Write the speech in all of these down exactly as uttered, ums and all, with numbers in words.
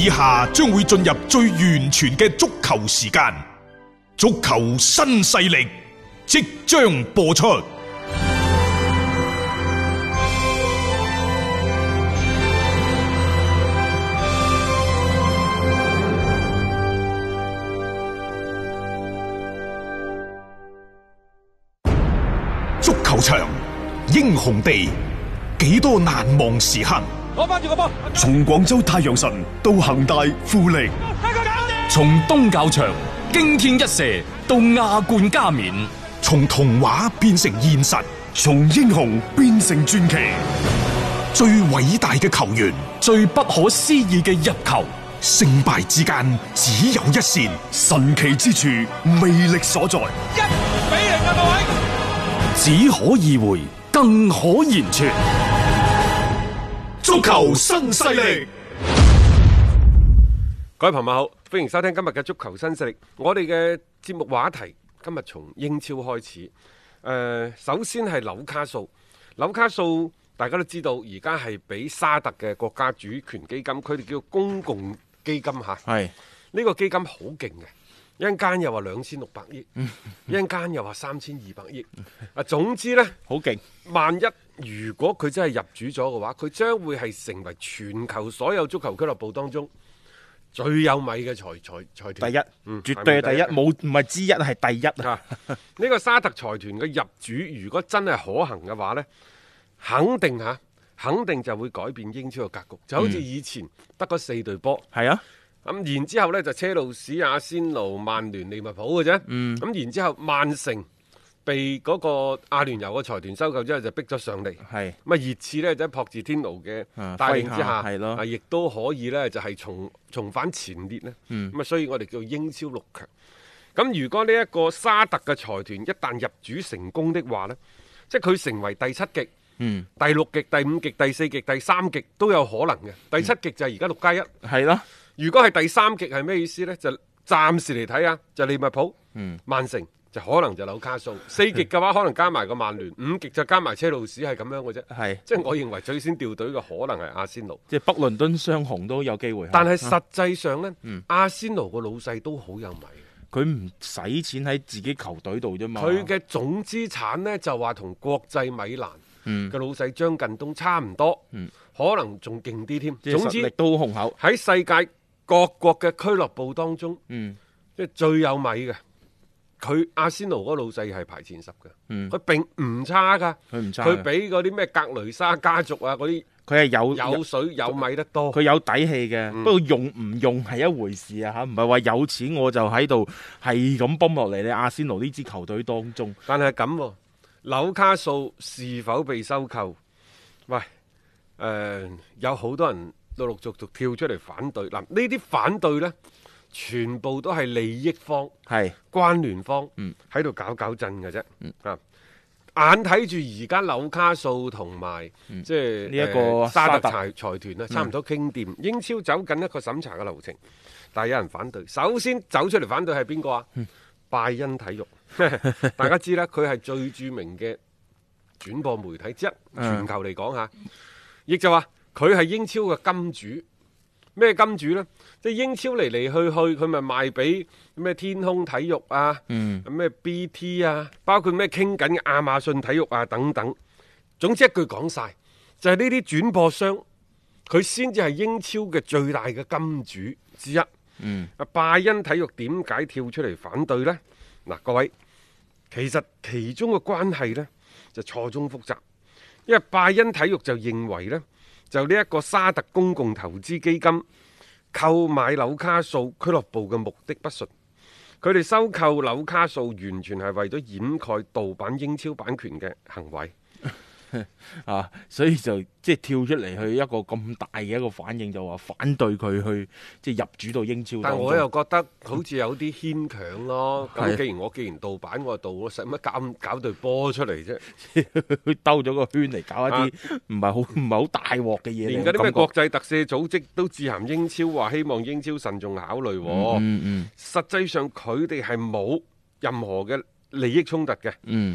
以下將會進入最完全嘅足球時間，足球新勢力即將播出。足球場，英雄地，幾多難忘時刻。 攞翻住個波， 從廣州太陽神到恒大富力， 從東較場驚天一射到亞冠加冕， 從童話變成現實， 從英雄變成傳奇。 最偉大嘅球員， 最不可思議嘅入球， 勝敗之間只有一線， 神奇之處魅力所在。 一比零啊，各位！ 只可意會，更可言傳。 足球新勢力， 各位朋友好，歡迎收聽今日嘅足球新勢力。我哋嘅節目話題今日從英超開始。誒、呃，首先係紐卡素，紐卡素大家都知道，而家係俾沙特嘅國家主權基金，佢哋叫公共基金吓。係呢個基金好勁嘅。一陣間又話兩千六百億，一陣間又話三千二百億。啊，總之呢，好勁。萬一如果佢真係入主咗嘅話，佢將會係成為全球所有足球俱樂部當中最有米嘅財財財團。 第一，嗯、絕對係第一，冇唔係之一，係第一啊！ 呢、這個沙特財團嘅入主，如果真係可行嘅話呢，肯定吓，肯定就會改變英超嘅格局。就好似以前得嗰四隊波，係、嗯、啊。咁然之後呢，就車路士、阿仙奴、曼聯、利物浦嘅啫。咁、嗯、然之後曼城被嗰個阿聯酋嘅財團收購之後，就逼咗上嚟。係咁啊，熱刺呢，就喺朴智天奴嘅帶領之下，係咯，啊亦都可以呢，就係、是、重重返前列呢。咁、嗯、啊，所以我哋叫英超六強。咁如果呢一個沙特嘅財團一旦入主成功的話呢，即係佢成為第七極、嗯、第六極、第五極、第四極、第三極都有可能嘅。第七極就係而家六加一，係咯。如果係第三極係咩意思呢？就暫時嚟睇下，就利物浦、嗯、曼城就可能就紐卡素。四極嘅話可能加埋個曼聯，五極就加埋車路士，係咁樣嘅啫。係，即係我認為最先調隊嘅可能係阿仙奴， 即係北倫敦雙雄都有機會。 但係實際上呢，嗯、阿仙奴個老細都好有米， 佢唔使錢喺自己球隊度啫嘛。 佢嘅總資產呢，就話同國際米蘭嘅老細張近東差唔多，嗯、可能仲勁啲添。總之實力都好雄厚喺世界各國嘅俱樂部當中，嗯，即係最有米嘅，佢阿仙奴嗰個老細係排前十嘅，嗯，佢並唔差噶，佢唔差，佢比嗰啲咩格雷沙家族啊嗰啲， 佢係有有水有米得多， 佢有底氣嘅，嗯、不過用唔用係一回事啊吓，唔係話有錢我就喺度係咁泵落嚟你阿仙奴呢支球隊當中。 但係咁，紐卡素是否被收購？喂，誒、呃，有好多人陸陸續續跳出嚟反對，嗱，呢啲反對呢，全部都係利益方、係關聯方喺度搞搞震嘅啫。啊，眼睇住而家紐卡素同埋即係呢一個沙特財財團咧，差唔多傾掂，嗯、英超走緊一個審查嘅流程，但係有人反對。首先走出嚟反對係邊個啊？嗯、拜恩體育，大家知啦，佢係最著名嘅轉播媒體之一，全球嚟講吓，亦、嗯、就話。佢係英超嘅金主，咩金主呢？即係英超嚟嚟去去，佢咪賣俾咩天空體育啊，咩、嗯、B T 啊，包括咩傾緊嘅亞馬遜體育啊等等。總之一句講晒，就係呢啲轉播商，佢先至係英超嘅最大嘅金主之一。嗯，拜恩體育點解跳出嚟反對呢？嗱，各位，其實其中嘅關係呢，就錯綜複雜，因為拜恩體育就認為呢。就呢一個沙特公共投資基金購買紐卡素俱樂部嘅目的不純，佢哋收購紐卡素完全係為咗掩蓋盜版英超版權嘅行為。 啊，所以就即係跳出嚟去一個咁大嘅一個反應，就話反對佢去即係入主到英超。 但我又覺得好似有啲牽強咯。咁既然我既然盜版我盜，我使乜搞搞隊波出嚟啫？ 兜咗個圈嚟搞一啲唔係好唔係好大鑊嘅嘢。 連嗰啲咩國際特赦組織都致函英超，話希望英超慎重考慮。嗯嗯嗯、實際上佢哋係冇任何嘅利益衝突嘅。嗯。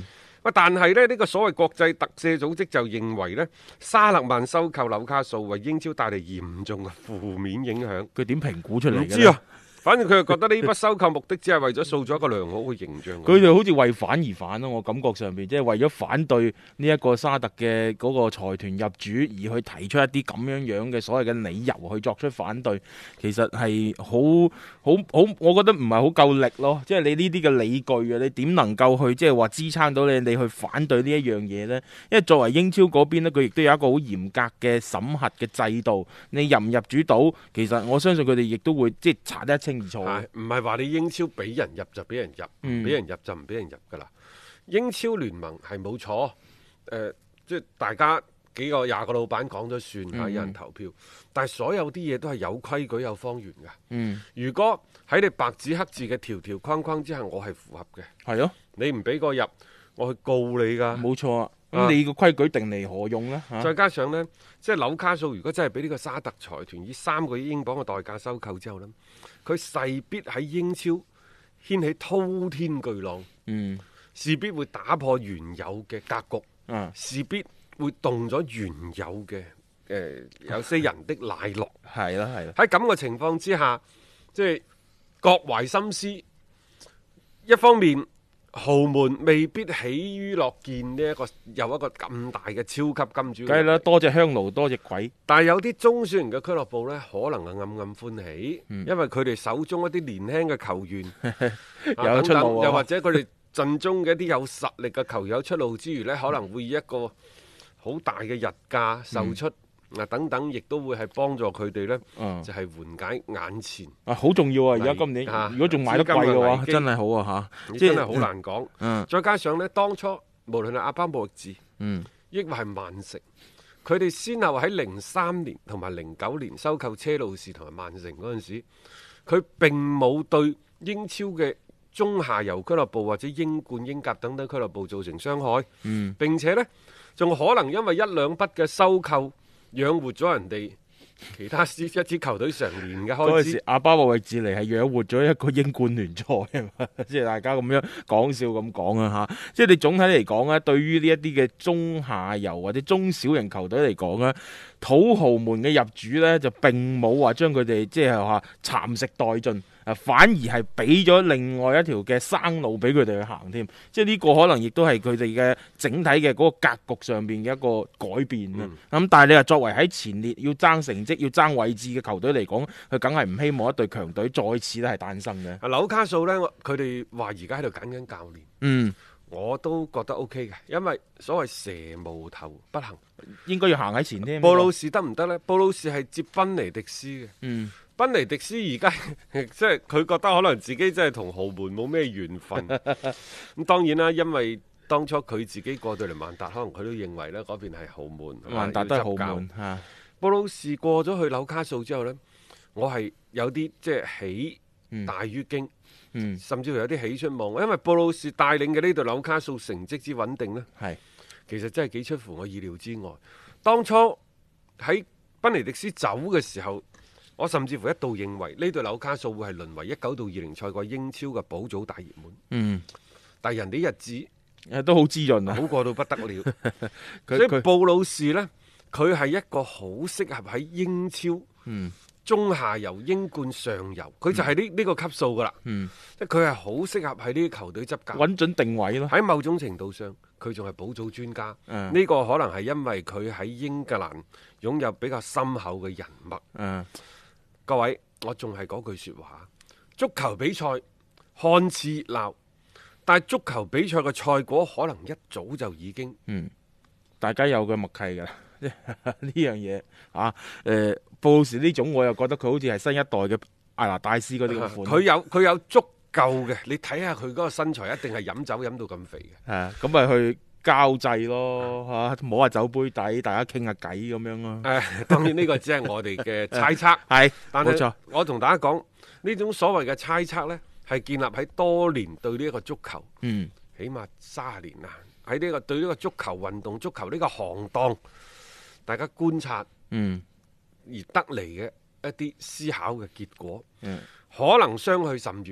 喂，但係咧呢、呢個所謂國際特赦組織就認為呢，沙勒曼收購紐卡素為英超帶嚟嚴重嘅負面影響。 佢點評估出嚟嘅？ 唔知啊。反正佢就覺得呢筆收購目的只係為咗塑造一個良好嘅形象。 佢哋好似為反而反咯，我感覺上邊即係為咗反對呢一個沙特嘅嗰個財團入主，而去提出一啲咁樣樣嘅所謂嘅理由去作出反對，其實係好好好，我覺得唔係好夠力咯。即係你呢啲嘅理據啊，你點能夠去即係話支撐到你你去反對呢一樣嘢呢？因為作為英超嗰邊咧，佢亦都有一個好嚴格嘅審核嘅制度，你入唔入主到，其實我相信佢哋亦都會即係查得一清。 係唔係話你英超俾人入就俾人入，唔俾、嗯、人入就唔俾人入噶啦？英超聯盟係冇錯，誒、呃，即係大家幾個廿個老闆講咗算吓，嗯、有人投票，但係所有啲嘢都係有規矩有方圓噶。嗯，如果喺你白紙黑字嘅條條框框之下，我係符合嘅，係咯、哦，你唔俾我入，我去告你噶。冇錯啊。咁你個規矩定嚟何用呢？啊、再加上呢，即係紐卡素，如果真係俾呢個沙特財團以三個億英鎊嘅代價收購之後呢，佢勢必喺英超掀起滔天巨浪，嗯，勢必會打破原有嘅格局，嗯，勢必會動咗原有嘅誒、呃、有些人的奶酪，係啦係啦。喺咁嘅情況之下，即係各懷心思，一方面。豪門未必喜於樂見呢一個有一個咁大嘅超級金主，梗係啦，多隻香爐多隻鬼。但係有啲中小型嘅俱樂部呢，可能係暗暗歡喜，嗯、因為佢哋手中一啲年輕嘅球員有出路、啊，又或者佢哋陣中嘅一啲有實力嘅球員有出路之餘呢，可能會以一個好大嘅日價售出。嗯嗱，等等，亦都會係幫助佢哋呢，嗯、就係緩解眼前啊，好重要啊！而家今年，啊、如果仲買得貴嘅話，真係好啊嚇！真係好難講。嗯、再加上呢，當初無論係阿巴莫域治，嗯，抑或係曼城，佢哋先後喺零三年同埋零九年收購車路士同埋曼城嗰陣時，佢並冇對英超嘅中下游俱樂部或者英冠、英甲等等俱樂部造成傷害。嗯，並且呢，仲可能因為一兩筆嘅收購，養活咗人哋其他一支球隊成年嘅開支。嗰陣時，阿巴莫域治嚟係養活咗一個英冠聯賽啊嘛，即係大家咁樣講笑咁講啊嚇。即係你總體嚟講咧，對於呢一啲嘅中下游或者中小型球隊嚟講咧，土豪們嘅入主咧就並冇話將佢哋即係話蠶食殆盡。啊，反而係俾咗另外一條嘅生路俾佢哋去行添，即係呢個可能亦都係佢哋嘅整體嘅嗰個格局上邊嘅一個改變啊。咁、嗯、但係你話作為喺前列要爭成績、要爭位置嘅球隊嚟講，佢梗係唔希望一隊強隊再次咧係誕生嘅。啊，紐卡素呢，佢哋話而家喺度揀緊教練，嗯，我都覺得 OK 嘅，因為所謂蛇無頭不行，應該要行喺前添。布魯士得唔得呢？布魯士係接賓尼迪斯嘅，嗯。賓尼迪斯而家即係佢覺得可能自己真係同豪門冇咩緣分。咁當然啦，因為當初佢自己過到嚟曼達，可能佢都認為呢嗰邊係豪門，曼達都係豪門。布魯士過咗去紐卡素之後呢，我係有啲即係喜大於驚，嗯、甚至乎有啲喜出望外，因為布魯士帶領嘅呢隊紐卡素成績之穩定呢，係其實真係幾出乎我意料之外。當初喺賓尼迪斯走嘅時候，我甚至乎一度認為呢隊紐卡素會係淪為一九到二零賽季英超嘅保組大熱門。嗯，但係人哋日子都好滋潤啊，好過到不得了。他所以布魯士呢，佢係一個好適合喺英超、嗯、中下游、英冠上游，佢就係呢呢個級數噶啦。嗯，即係佢係好適合喺呢啲球隊執教，穩準定位咯。喺某種程度上，佢仲係保組專家。呢、嗯、個可能係因為佢喺英格蘭擁有比較深厚嘅人脈。嗯。各位，我仲係嗰句說話，足球比賽看似熱鬧，但係足球比賽嘅賽果可能一早就已經，嗯，大家有個默契噶啦，呢樣嘢啊，誒、呃，布魯士呢種我又覺得佢好似係新一代嘅艾拿戴斯嗰啲款，佢、啊、有佢有足夠嘅，你睇下佢嗰個身材，一定係飲酒飲到咁肥嘅，係咁咪去交際咯，吓、啊、摸下酒杯底，大家傾下偈咁樣咯。誒、啊，當然呢個只係我哋嘅猜測，係，但係冇錯。我同大家講呢種所謂嘅猜測呢，係建立喺多年對呢一個足球，嗯，起碼三十年啦，喺呢個對呢個足球運動、足球呢個行當，大家觀察，嗯，而得嚟嘅一啲思考嘅結果，嗯，可能相去甚遠，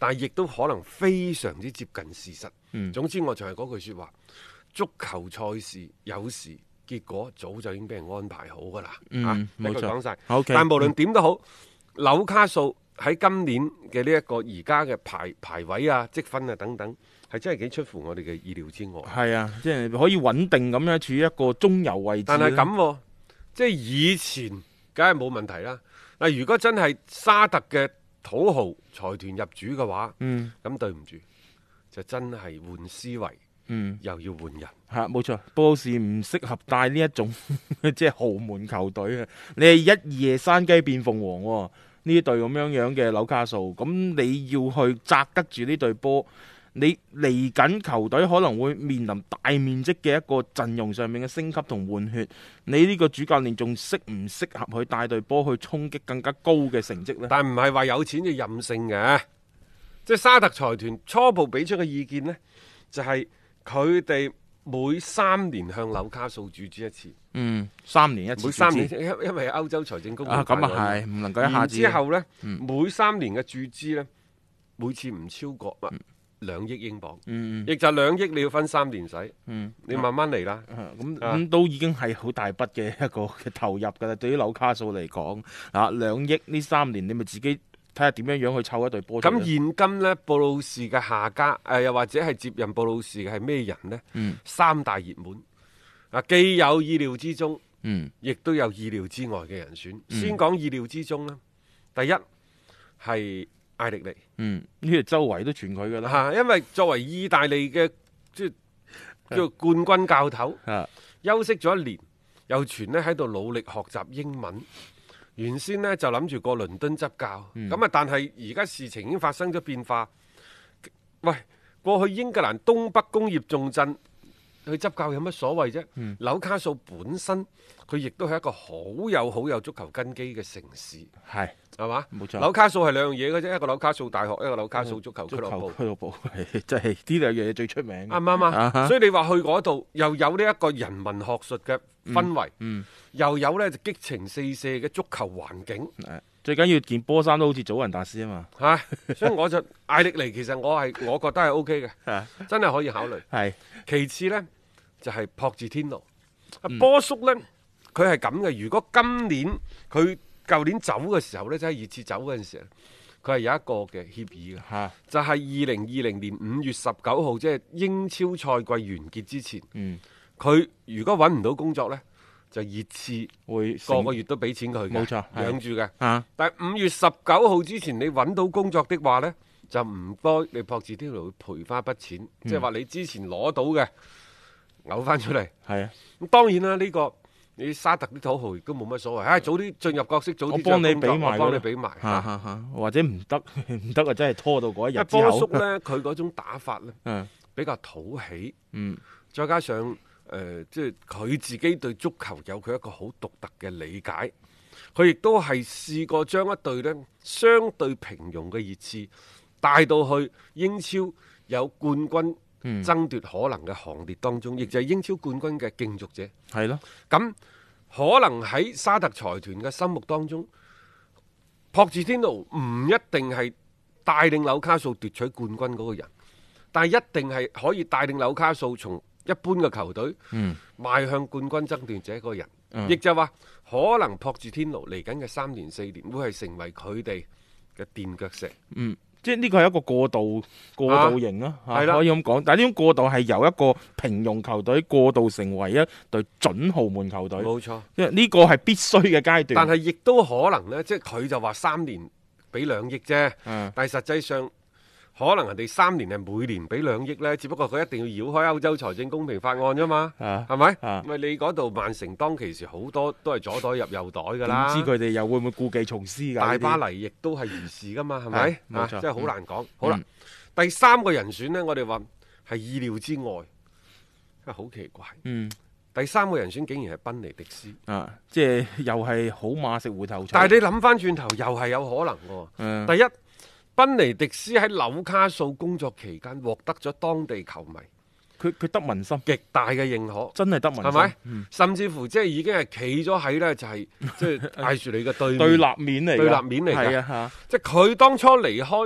但係亦都可能非常之接近事實。 嗯總之我就係嗰句説話，足球賽事有時結果早就已經俾人安排好㗎啦。 嗯啊， 冇錯呢句講晒。 OK 但無論點都好，紐卡素喺今年嘅呢一個而家嘅排排位啊、積分啊等等，係真係幾出乎我哋嘅意料之外。 係啊，即係可以穩定咁樣處於一個中游位置。 但係咁喎，即係以前梗係冇問題啦。嗱，如果真係沙特嘅土豪財團入主嘅話， 嗯咁對唔住，就真係換思維， 嗯。 又要換人。 嚇，冇錯，布魯士唔適合帶呢一種即係豪門球隊啊！你係一夜山雞變鳳凰喎、呢隊咁樣樣嘅紐卡素，咁你要去擲得住呢隊波，你嚟緊球隊可能會面臨大面積嘅一個陣容上面嘅升級同換血，你呢個主教練仲適唔適合去帶隊波去衝擊更加高嘅成績呢？ 但唔係話有錢就任性嘅，即係沙特財團初步俾出嘅意見呢，就係佢哋每三年向紐卡素注資一次， 嗯，三年一次， 每三年，因因為歐洲財政公啊，咁啊係，唔能夠一下子。 之後呢， 嗯每三年嘅注資呢，每次唔超過啊兩億英鎊， 嗯亦就兩億你要分三年使， 嗯， 你慢慢嚟啦。 咁咁、 啊都已經係好大筆嘅一個嘅投入㗎啦。對於紐卡素嚟講，啊兩億呢三年，你咪自己睇下點樣樣去湊一隊波出嚟。 咁現今呢，布魯士嘅下家，誒、呃、又或者係接任布魯士嘅係咩人呢？ 嗯三大熱門啊，既有意料之中， 嗯亦都有意料之外嘅人選。 嗯先講意料之中啦，第一係艾力尼嗯，呢個周圍都傳佢㗎啦。 嚇，因為作為意大利嘅即係叫做冠軍教頭， 啊休息咗一年，又傳呢喺度努力學習英文。原先呢就諗住過倫敦執教，咁、 嗯啊，但係而家事情已經發生咗變化。喂，過去英格蘭東北工業重鎮去執教有乜所謂啫？ 嗯紐卡素本身佢亦都係一個好有好有足球根基嘅城市， 係係嘛？ 冇錯。 紐卡素係兩樣嘢嘅啫，一個紐卡素大學，一個紐卡素足球俱足球樂部。 俱樂部係真係呢兩樣嘢最出名嘅。 啱唔啱啊？ 啊哈所以你話去嗰度又有呢一個人文學術嘅氛圍， 嗯， 又有呢就激情四射嘅足球環境， 誒最緊要件波衫都好似祖雲達斯啊嘛。 嚇、所以我就艾力尼其實我係我覺得係 O K 嘅， 啊真係可以考慮。 係其次呢，就係、朴智天奴，啊嗯波叔呢，佢係咁嘅。如果今年佢舊年走嘅時候呢，即係熱刺走嗰陣時候，佢係有一個嘅協議嘅。 嚇， 就係二零二零年五月十九號，即係英超賽季完結之前， 嗯， 佢如果揾唔到工作呢，就熱刺會個個月都俾錢佢嘅， 冇錯係養住嘅。 啊， 但係五月十九號之前你揾到工作的話呢，就唔該你朴智天奴會賠翻一筆錢，即係話你之前攞到嘅嘔翻出嚟。 係啊， 咁當然啦，呢、個你沙特啲土豪亦都冇乜所謂，唉、早啲進入角色，早啲我幫你進入工作俾埋㗎我幫你俾埋。 嚇嚇嚇，或者唔得唔得啊，真係拖到嗰一因為日之後。 波叔呢，佢嗰種打法呢， 嗯比較討喜。 嗯再加上誒、呃，即係佢自己對足球有佢一個好獨特嘅理解，佢亦都係試過將一隊呢相對平庸嘅熱刺帶到去英超有冠軍嗯， 爭奪可能嘅行列當中，亦、就係英超冠軍嘅競逐者。 係咯， 咁可能喺沙特財團嘅心目當中，朴智天奴唔一定係帶領紐卡素奪取冠軍嗰個人，但係一定係可以帶領紐卡素從一般嘅球隊嗯邁向冠軍爭奪者嗰個人。 嗯亦就話可能朴智天奴嚟緊嘅三年四年會係成為佢哋嘅墊腳石。 嗯。即係呢個係一個過渡過渡型咯，嚇係啦可以咁講。但係呢種過渡係由一個平庸球隊過渡成為一隊準豪門球隊， 冇錯， 因為呢個係必須嘅階段。 但係亦都可能呢，即係佢就話三年俾兩億啫。 嗯但係實際上，可能人哋三年係每年俾兩億呢，只不過佢一定要繞開歐洲財政公平法案啫嘛， 啊係咪？ 啊咪你嗰度曼城當其時好多都係左袋入右袋㗎啦， 點知佢哋又會唔會故技重施㗎？ 大呢啲巴黎亦都係如是㗎嘛，係咪？啊係冇錯真係好難講。好啦嗯， 第三個人選呢，我哋話係意料之外，真係好奇怪。 嗯第三個人選竟然係賓尼迪斯， 啊，即係又係好馬食回頭草。 但係你諗翻轉頭，又係有可能喎。 嗯第一，賓尼迪斯喺紐卡素工作期間獲得咗當地球迷佢佢得民心， 極大嘅認可， 真係得民心， 係咪？ 嗯甚至乎即係已經係企咗喺呢，就係即係艾樹你嘅對面對立面嚟㗎， 對立面嚟㗎係啊嚇。 即係佢當初離開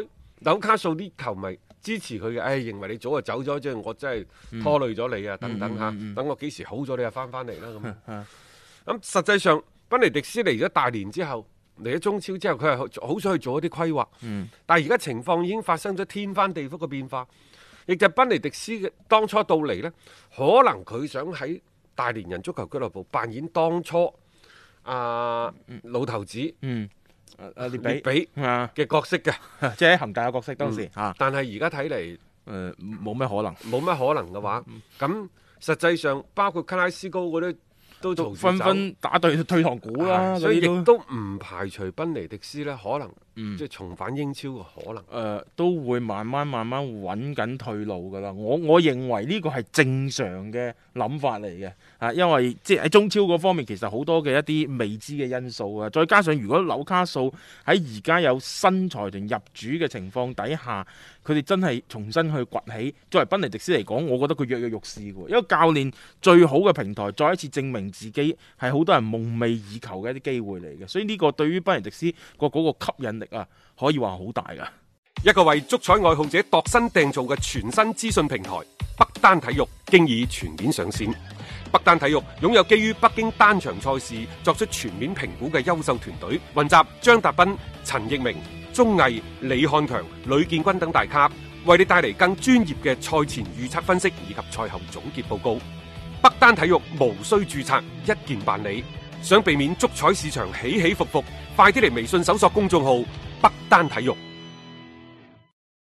紐卡素啲球迷支持佢嘅，唉、哎，認為你早就走咗，即係我真係拖累咗你啊，等等嚇，等我幾時好咗你就翻翻嚟啦咁。咁實際上，賓尼迪斯嚟咗大連之後，嚟咗中超之後，佢係好想去做一啲規劃。嗯、但係而家情況已經發生咗天翻地覆嘅變化，亦就係賓尼迪斯嘅當初到嚟呢，可能佢想喺大連人足球俱樂部扮演當初啊、呃、老頭子。嗯誒列比比嘅角色嘅， 即係喺恒大嘅角色當時、 嗯、但係而家睇嚟， 誒冇咩可能， 冇咩可能嘅話，咁、嗯、實際上包括卡拉斯高嗰啲都紛紛打對退堂鼓啦， 所以亦都唔排除賓尼迪斯呢可能、嗯、即係重返英超嘅可能。誒、 呃、都會慢慢慢慢揾緊退路㗎啦。我我認為呢個係正常嘅諗法嚟嘅，啊，因為即係喺中超嗰方面其實好多嘅一啲未知嘅因素啊，再加上如果紐卡素喺而家有新財團入主嘅情況底下，佢哋真係重新去崛起，作為賓尼迪斯嚟講，我覺得佢躍躍欲試嘅，一個教練最好嘅平台，再一次證明自己係好多人夢寐以求嘅一啲機會嚟嘅，所以呢個對於賓尼迪斯個嗰個吸引力啊，可以話好大噶。 一個為足彩愛好者度身訂造嘅全新資訊平台北單體育，經已全面上線。北單體育擁有基於北京單場賽事作出全面評估嘅優秀團隊，雲集張達斌、陳奕明、鐘毅、李漢強、呂建軍等大咖，為你帶嚟更專業嘅賽前預測分析以及賽後總結報告。北單體育無需註冊，一鍵辦理。想避免足彩市場起起伏伏，快啲嚟微信搜索公眾號北單體育。